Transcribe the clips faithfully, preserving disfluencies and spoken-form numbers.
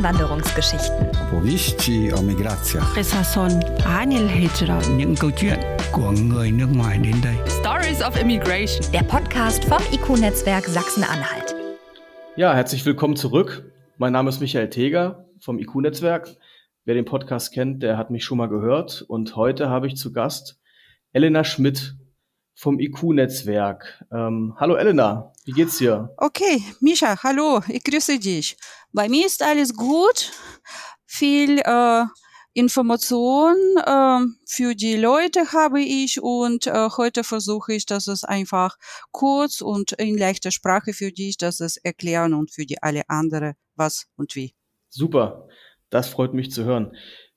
Einwanderungsgeschichten. Opowieści o migracjach. Resason Anil Hijra. Những câu chuyện của người nước ngoài đến đây. Stories of Immigration. Der Podcast vom I Q-Netzwerk Sachsen-Anhalt. Ja, herzlich willkommen zurück. Mein Name ist Michael Teger vom I Q-Netzwerk. Wer den Podcast kennt, der hat mich schon mal gehört. Und heute habe ich zu Gast Elena Schmidt vom I Q-Netzwerk. Ähm, hallo Elena, wie geht's dir? Okay, Micha, hallo, ich grüße dich. Bei mir ist alles gut. Viel äh, Information äh, für die Leute habe ich und äh, heute versuche ich, dass es einfach kurz und in leichter Sprache für dich, dass es erklären und für die alle anderen was und wie. Super, das freut mich zu hören.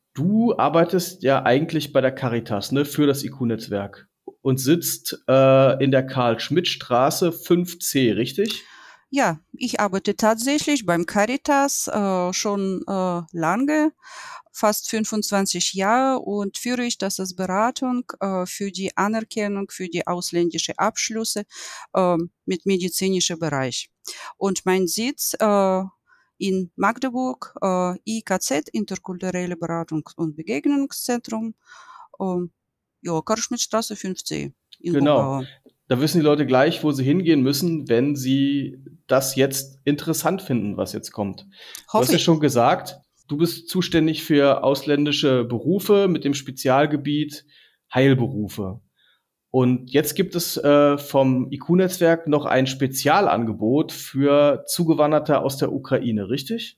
Du arbeitest ja eigentlich bei der Caritas, ne, für das I Q-Netzwerk und sitzt äh, in der Karl-Schmidt-Straße fünf C, richtig? Ja, ich arbeite tatsächlich beim Caritas äh, schon äh, lange, fast fünfundzwanzig Jahre und führe ich das als Beratung äh, für die Anerkennung für die ausländischen Abschlüsse äh, mit medizinischem Bereich. Und mein Sitz äh, in Magdeburg, äh, I K Z, Interkulturelle Beratung und Begegnungszentrum, äh, ja, Karl-Schmidt-Straße fünf C in Genau. Buchauer. Da wissen die Leute gleich, wo sie hingehen müssen, wenn sie das jetzt interessant finden, was jetzt kommt. Du hast ja schon gesagt, du bist zuständig für ausländische Berufe mit dem Spezialgebiet Heilberufe. Und jetzt gibt es äh, vom I Q-Netzwerk noch ein Spezialangebot für Zugewanderte aus der Ukraine, richtig?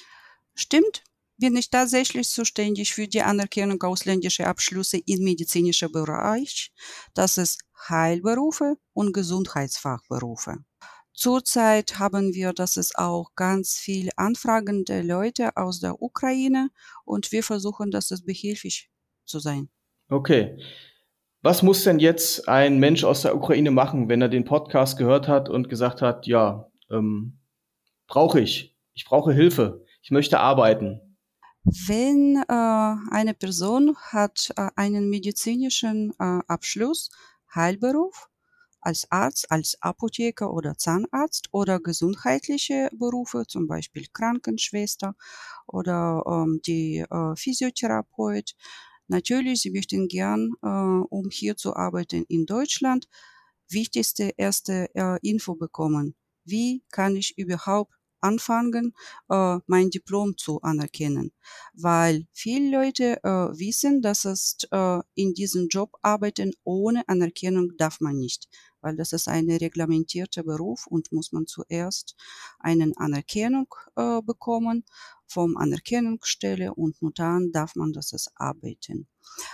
Stimmt. Bin ich tatsächlich zuständig für die Anerkennung ausländischer Abschlüsse im medizinischen Bereich. Das ist Heilberufe und Gesundheitsfachberufe. Zurzeit haben wir, das ist auch ganz viel anfragende Leute aus der Ukraine und wir versuchen, dass es behilflich zu sein. Okay. Was muss denn jetzt ein Mensch aus der Ukraine machen, wenn er den Podcast gehört hat und gesagt hat, ja, ähm, brauche ich, ich brauche Hilfe, ich möchte arbeiten? Wenn äh, eine Person hat äh, einen medizinischen äh, Abschluss, Heilberuf, als Arzt, als Apotheker oder Zahnarzt oder gesundheitliche Berufe, zum Beispiel Krankenschwester oder ähm, die äh, Physiotherapeut. Natürlich, sie möchten gern, äh, um hier zu arbeiten in Deutschland, wichtigste erste äh, Info bekommen. Wie kann ich überhaupt anfangen, äh, mein Diplom zu anerkennen? Weil viele Leute äh, wissen, dass es äh, in diesem Job arbeiten ohne Anerkennung darf man nicht, weil das ist ein reglementierter Beruf und muss man zuerst eine Anerkennung äh, bekommen vom Anerkennungsstelle und nur dann darf man das es arbeiten.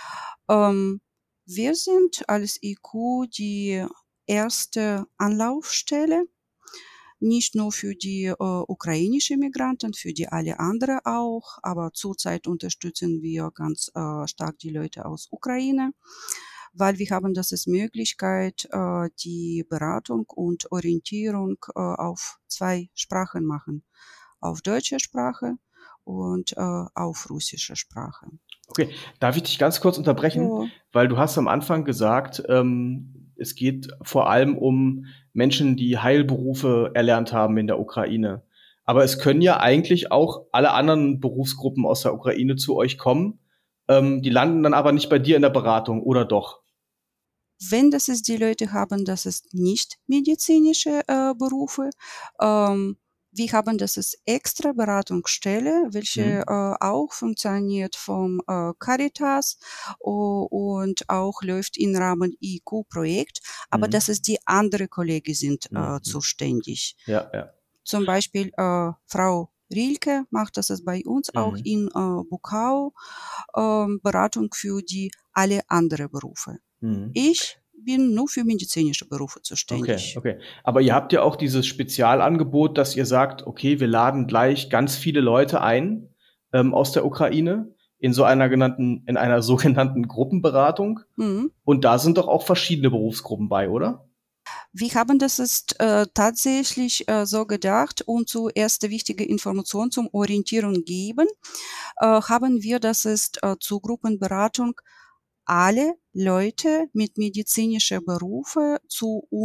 Ähm, wir sind als I Q die erste Anlaufstelle, nicht nur für die äh, ukrainischen Migranten, für die alle anderen auch, aber zurzeit unterstützen wir ganz äh, stark die Leute aus Ukraine, weil wir haben das als Möglichkeit, äh, die Beratung und Orientierung äh, auf zwei Sprachen machen, auf deutsche Sprache und äh, auf russische Sprache. Okay, darf ich dich ganz kurz unterbrechen? Ja. Weil du hast am Anfang gesagt, ähm, es geht vor allem um Menschen, die Heilberufe erlernt haben in der Ukraine. Aber es können ja eigentlich auch alle anderen Berufsgruppen aus der Ukraine zu euch kommen. Ähm, die landen dann aber nicht bei dir in der Beratung, oder doch? Wenn das ist, die Leute haben, das ist nicht medizinische äh, Berufe. Ähm, wir haben das ist extra Beratungsstelle, welche Mhm. äh, auch funktioniert vom äh, Caritas o- und auch läuft im Rahmen I Q-Projekt. Aber Mhm. das ist die andere Kollegen sind äh, Mhm. zuständig. Ja, ja. Zum Beispiel äh, Frau Rilke macht das ist bei uns auch Mhm. in äh, Buchau ähm, Beratung für die alle anderen Berufe. Mhm. Ich bin nur für medizinische Berufe Okay, zuständig. okay. Aber ihr habt ja auch dieses Spezialangebot, dass ihr sagt, okay, wir laden gleich ganz viele Leute ein ähm, aus der Ukraine in so einer genannten, in einer sogenannten Gruppenberatung. Mhm. Und da sind doch auch verschiedene Berufsgruppen bei, oder? Wir haben das ist äh, tatsächlich äh, so gedacht, um zuerst wichtige Informationen zum Orientierung geben, äh, haben wir das ist äh, zur Gruppenberatung alle Leute mit medizinischer Berufe zu uns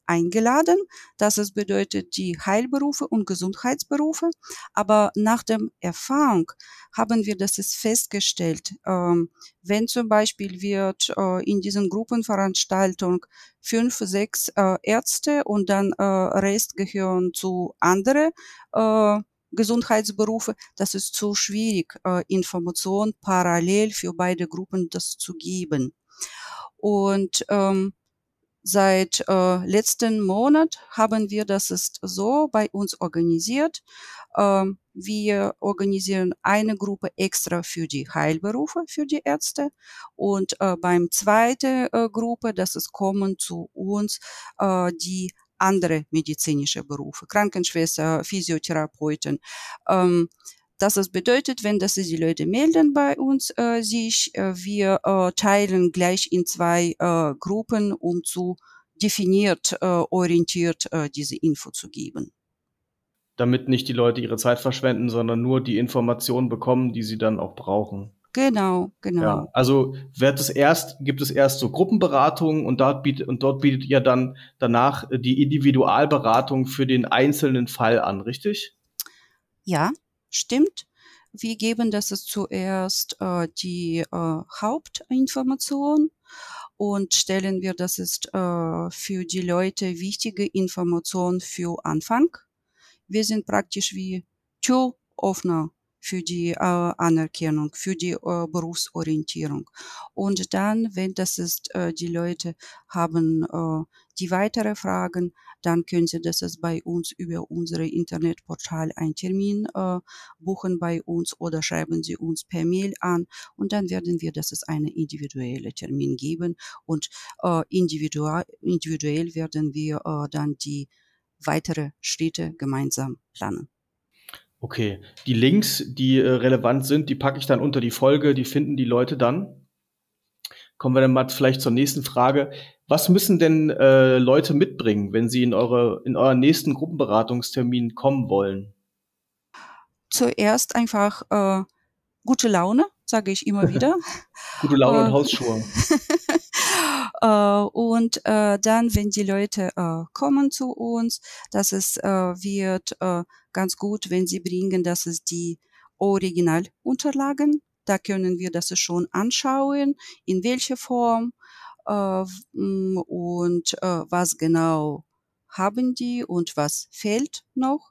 eingeladen. Das ist bedeutet die Heilberufe und Gesundheitsberufe. Aber nach der Erfahrung haben wir das ist festgestellt, ähm, wenn zum Beispiel wird äh, in diesen Gruppenveranstaltungen fünf, sechs äh, Ärzte und dann äh, Rest gehören zu andere äh, Gesundheitsberufe, das ist zu schwierig, äh, Informationen parallel für beide Gruppen das zu geben. Und ähm, seit äh, letzten Monat haben wir das ist so bei uns organisiert. Ähm, wir organisieren eine Gruppe extra für die Heilberufe, für die Ärzte. Und äh, beim zweiten äh, Gruppe, das ist kommen zu uns äh, die andere medizinische Berufe, Krankenschwester, Physiotherapeuten. Ähm, das ist bedeutet, wenn das die Leute melden bei uns äh, sich, äh, wir äh, teilen gleich in zwei äh, Gruppen, um zu definiert, äh, orientiert äh, diese Info zu geben. Damit nicht die Leute ihre Zeit verschwenden, sondern nur die Informationen bekommen, die sie dann auch brauchen. Genau, genau. Ja, also wird es erst, gibt es erst so Gruppenberatungen und dort bietet, und dort bietet ihr dann danach die Individualberatung für den einzelnen Fall an, richtig? Ja, stimmt. Wir geben das ist zuerst äh, die äh, Hauptinformation und stellen wir, das ist äh, für die Leute wichtige Information für Anfang. Wir sind praktisch wie Türöffner für die äh, Anerkennung, für die äh, Berufsorientierung. Und dann, wenn das ist, äh, die Leute haben äh, die weitere Fragen, dann können sie das ist bei uns über unsere Internetportal einen Termin äh, buchen bei uns oder schreiben sie uns per Mail an und dann werden wir das ist eine individuelle Termin geben und äh, individual, individuell werden wir äh, dann die weitere Schritte gemeinsam planen. Okay, die Links, die äh, relevant sind, die packe ich dann unter die Folge, die finden die Leute dann. Kommen wir dann mal vielleicht zur nächsten Frage. Was müssen denn äh, Leute mitbringen, wenn sie in eure in euren nächsten Gruppenberatungstermin kommen wollen? Zuerst einfach äh, gute Laune, sage ich immer wieder. Gute Laune und Äh, Hausschuhe. äh, und äh, dann, wenn die Leute äh, kommen zu uns, das ist, äh, wird äh, ganz gut, wenn sie bringen, das ist die Originalunterlagen. Da können wir das schon anschauen, in welcher Form äh, m, und äh, was genau haben die und was fehlt noch.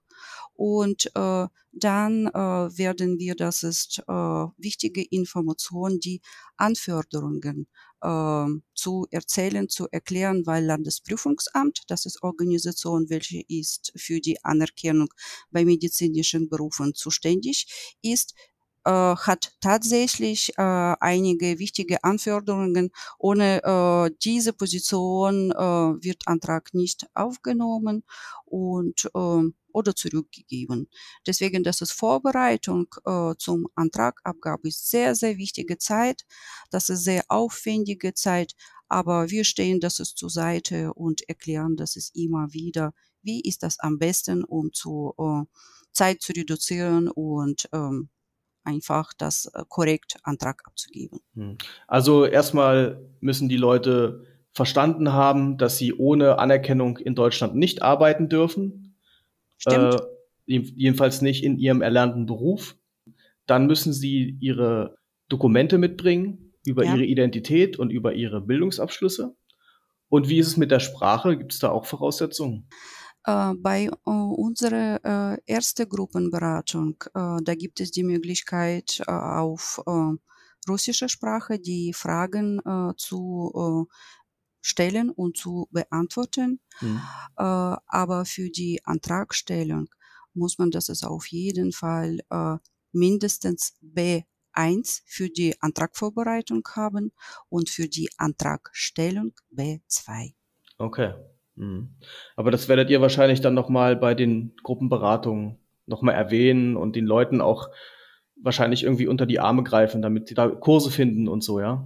Und äh, dann äh, werden wir, das ist äh, wichtige Information, die Anforderungen äh, zu erzählen, zu erklären, weil Landesprüfungsamt, das ist Organisation, welche ist für die Anerkennung bei medizinischen Berufen zuständig ist, äh, hat tatsächlich äh, einige wichtige Anforderungen. Ohne äh, diese Position äh, wird Antrag nicht aufgenommen und äh, oder zurückgegeben. Deswegen, das ist Vorbereitung äh, zum Antragabgabe ist sehr, sehr wichtige Zeit. Das ist sehr aufwendige Zeit, aber wir stehen das ist zur Seite und erklären das ist immer wieder, wie ist das am besten, um zu äh, Zeit zu reduzieren und ähm, einfach das äh, korrekt Antrag abzugeben. Also erstmal müssen die Leute verstanden haben, dass sie ohne Anerkennung in Deutschland nicht arbeiten dürfen. Stimmt. Äh, jedenfalls nicht in ihrem erlernten Beruf. Dann müssen sie ihre Dokumente mitbringen über Ja. ihre Identität und über ihre Bildungsabschlüsse. Und wie ist es mit der Sprache? Gibt es da auch Voraussetzungen? Äh, bei äh, unserer äh, ersten Gruppenberatung, äh, da gibt es die Möglichkeit äh, auf äh, russischer Sprache die Fragen äh, zu äh, stellen und zu beantworten. Hm. Äh, aber für die Antragstellung muss man das ist auf jeden Fall äh, mindestens B eins für die Antragvorbereitung haben und für die Antragstellung B zwei. Okay. Hm. Aber das werdet ihr wahrscheinlich dann nochmal bei den Gruppenberatungen nochmal erwähnen und den Leuten auch wahrscheinlich irgendwie unter die Arme greifen, damit sie da Kurse finden und so, ja?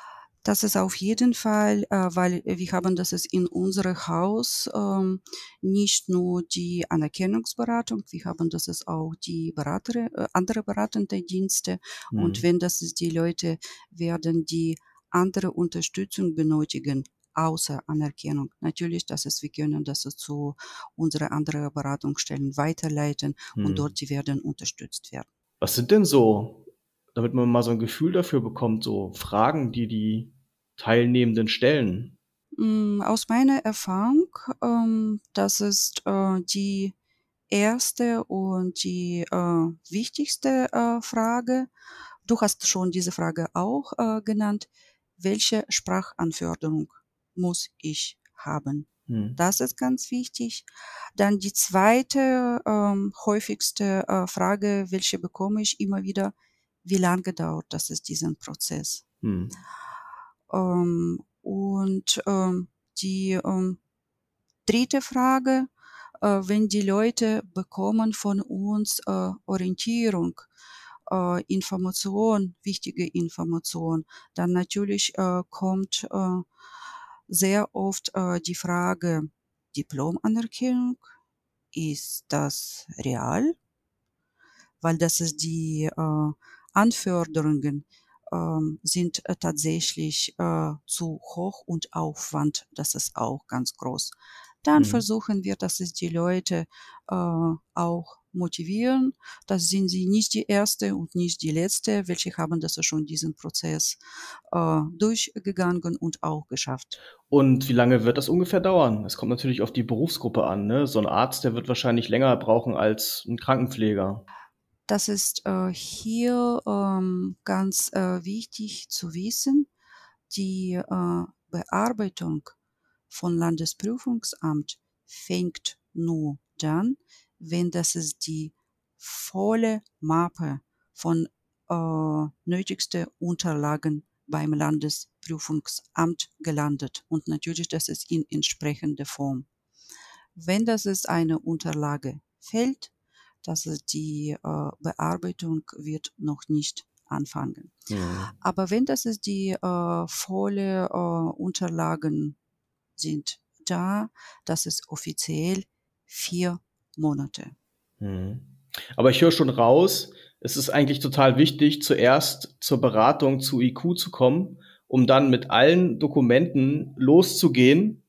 Das ist auf jeden Fall, äh, weil wir haben das ist in unserem Haus ähm, nicht nur die Anerkennungsberatung, wir haben das ist auch die Berater, äh, andere beratende Dienste. Hm. Und wenn das ist die Leute werden, die andere Unterstützung benötigen, außer Anerkennung. Natürlich, das ist, wir können das zu unsere anderen Beratungsstellen weiterleiten Hm. und dort die werden unterstützt werden. Was sind denn so, damit man mal so ein Gefühl dafür bekommt, so Fragen, die die Teilnehmenden stellen? Aus meiner Erfahrung, ähm, das ist äh, die erste und die äh, wichtigste äh, Frage. Du hast schon diese Frage auch äh, genannt. Welche Sprachanforderung muss ich haben? Hm. Das ist ganz wichtig. Dann die zweite ähm, häufigste äh, Frage, welche bekomme ich immer wieder, wie lange dauert das ist diesen Prozess? Hm. Ähm, und ähm, die ähm, dritte Frage, äh, wenn die Leute bekommen von uns äh, Orientierung, äh, Information, wichtige Information, dann natürlich äh, kommt äh, sehr oft äh, die Frage, Diplomanerkennung, ist das real? Weil das ist die äh, Anforderungen ähm, sind äh, tatsächlich äh, zu hoch und Aufwand, das ist auch ganz groß. Dann Hm. versuchen wir, dass es die Leute äh, auch motivieren. Das sind sie nicht die erste und nicht die letzte, welche haben das schon diesen Prozess äh, durchgegangen und auch geschafft. Und wie lange wird das ungefähr dauern? Es kommt natürlich auf die Berufsgruppe an, ne? So ein Arzt, der wird wahrscheinlich länger brauchen als ein Krankenpfleger. Das ist äh, hier ähm, ganz äh, wichtig zu wissen. Die äh, Bearbeitung von Landesprüfungsamt fängt nur dann, wenn das ist die volle Mappe von äh, nötigsten Unterlagen beim Landesprüfungsamt gelandet. Und natürlich, das ist in entsprechender Form. Wenn das ist eine Unterlage fällt, dass es die äh, Bearbeitung wird noch nicht anfangen. Mhm. Aber wenn das ist die äh, volle äh, Unterlagen sind da, das ist offiziell vier Monate. Mhm. Aber ich höre schon raus, es ist eigentlich total wichtig, zuerst zur Beratung zu I Q zu kommen, um dann mit allen Dokumenten loszugehen.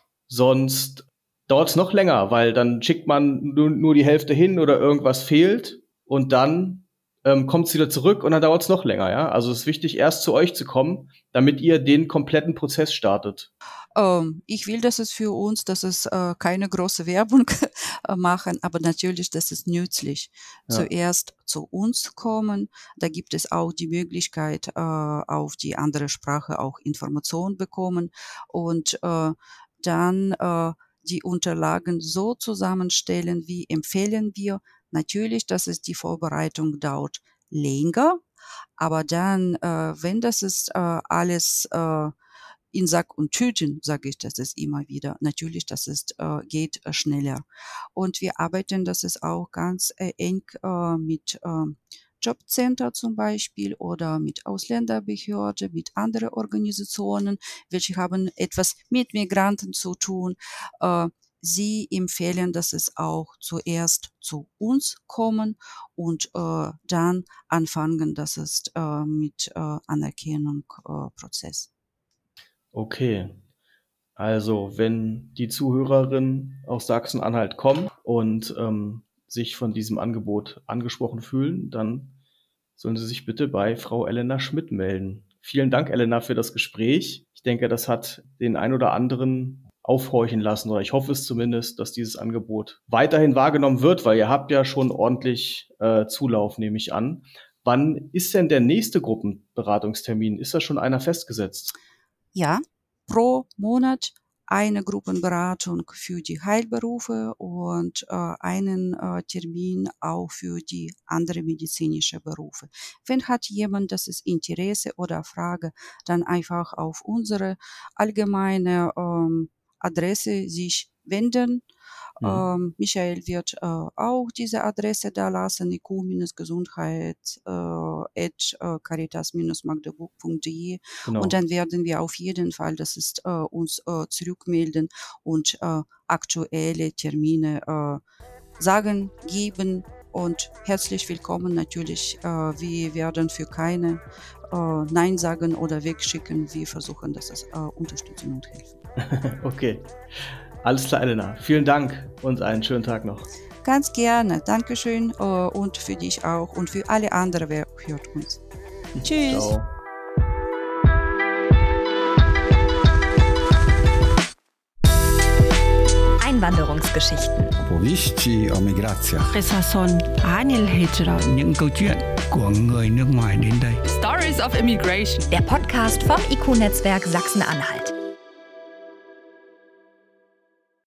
Sonst dauert es noch länger, weil dann schickt man nur, nur die Hälfte hin oder irgendwas fehlt und dann ähm, kommt es wieder zurück und dann dauert es noch länger. Ja? Also es ist wichtig, erst zu euch zu kommen, damit ihr den kompletten Prozess startet. Ähm, ich will, dass es für uns, dass es äh, keine große Werbung äh, machen, aber natürlich, das ist nützlich. Ja. Zuerst zu uns kommen, da gibt es auch die Möglichkeit, äh, auf die andere Sprache auch Informationen bekommen und äh, dann äh, die Unterlagen so zusammenstellen, wie empfehlen wir. Natürlich, dass es die Vorbereitung dauert länger, aber dann, äh, wenn das ist äh, alles äh, in Sack und Tüten, sage ich das ist immer wieder. Natürlich, das ist, äh, geht äh, schneller. Und wir arbeiten, das ist auch ganz äh, eng äh, mit äh, Jobcenter zum Beispiel oder mit Ausländerbehörde, mit anderen Organisationen, welche haben etwas mit Migranten zu tun. Äh, Sie empfehlen, dass es auch zuerst zu uns kommen und äh, dann anfangen, das ist äh, mit äh, Anerkennung äh, Prozess. Okay. Also, wenn die Zuhörerinnen aus Sachsen-Anhalt kommen und ähm, sich von diesem Angebot angesprochen fühlen, dann sollen sie sich bitte bei Frau Elena Schmidt melden. Vielen Dank, Elena, für das Gespräch. Ich denke, das hat den ein oder anderen aufhorchen lassen, oder ich hoffe es zumindest, dass dieses Angebot weiterhin wahrgenommen wird, weil ihr habt ja schon ordentlich äh, Zulauf, nehme ich an. Wann ist denn der nächste Gruppenberatungstermin? Ist da schon einer festgesetzt? Ja, pro Monat eine Gruppenberatung für die Heilberufe und äh, einen äh, Termin auch für die anderen medizinischen Berufe. Wenn hat jemand das ist Interesse oder Frage, dann einfach auf unsere allgemeine ähm, Adresse sich wenden. Mhm. Ähm, Michael wird äh, auch diese Adresse da lassen, I Q-Gesundheit äh, at äh, caritas-magdeburg punkt de. Genau. Und dann werden wir auf jeden Fall, das ist äh, uns äh, zurückmelden und äh, aktuelle Termine äh, sagen, geben und herzlich willkommen natürlich. Äh, wir werden für keine äh, Nein sagen oder wegschicken. Wir versuchen, dass es äh, unterstützen und helfen. Okay, alles klar, Elena. Vielen Dank und einen schönen Tag noch. Ganz gerne. Dankeschön äh, und für dich auch und für alle anderen, wer hört uns. Tschüss. Ciao. Einwanderungsgeschichten. Opowieści o migracjach. Resason عن الهجرة. Những câu chuyện của người nước ngoài đến đây. Stories of Immigration. Der Podcast vom I Q-Netzwerk Sachsen-Anhalt.